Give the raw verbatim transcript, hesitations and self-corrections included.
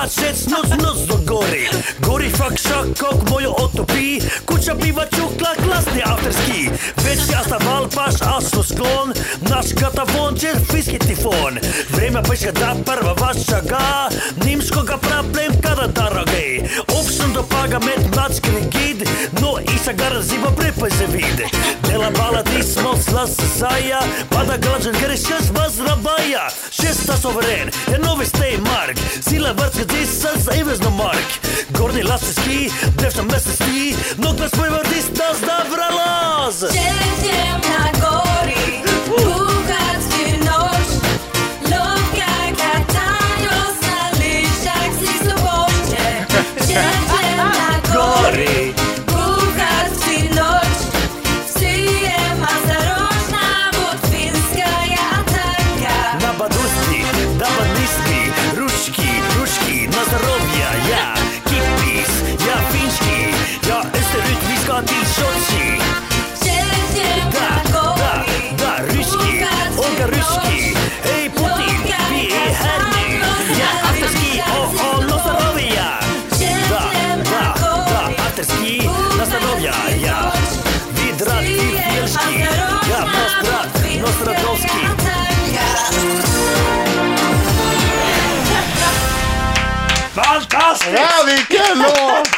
Shit, snus, snus do gori. Gori fuck shakok, mojo otopi. Kuća piva čukla, klasni afterski. Već jasta valpaš, asu sklon. Naš katavon će fiski tifon. Vreme peška da prva vaša ga. Nimskoga problem kada daragej. Opšten do paga met matski rigid. No isa garaziva prepaj se vide. Dela bala ti smol slas saja. Pada glađan grešas vas rabaja. Šesta soveren, je novi stay mark. Sila vrtska disas, ivezno mark. Gorni laseski, devšta mesesti. Nog nas pojva distas da vralaz. Jedziemy na gori, bugacki noż. Lovka katają na liściach z sobocie. Jedziemy na gori, bugacki noż. Wsyje ma zarożna, bo finska ataka. Na baduski, dawa niski, ruszki, ruszki, na zdrowia, ja, kippis, ja fiński, ja österrytwiska till Sochi. Jedziemy Da, na da, gori, da, ryski, Olga ryski, hej Putin, vi är här nu, ja, afterski, o, o, na zdrowia. Da, da, da, afterski, na zdrowia, ja, vidrat, wielski, ja, nostrat, nostradowski. Fantastiskt! Ja, vilken låt!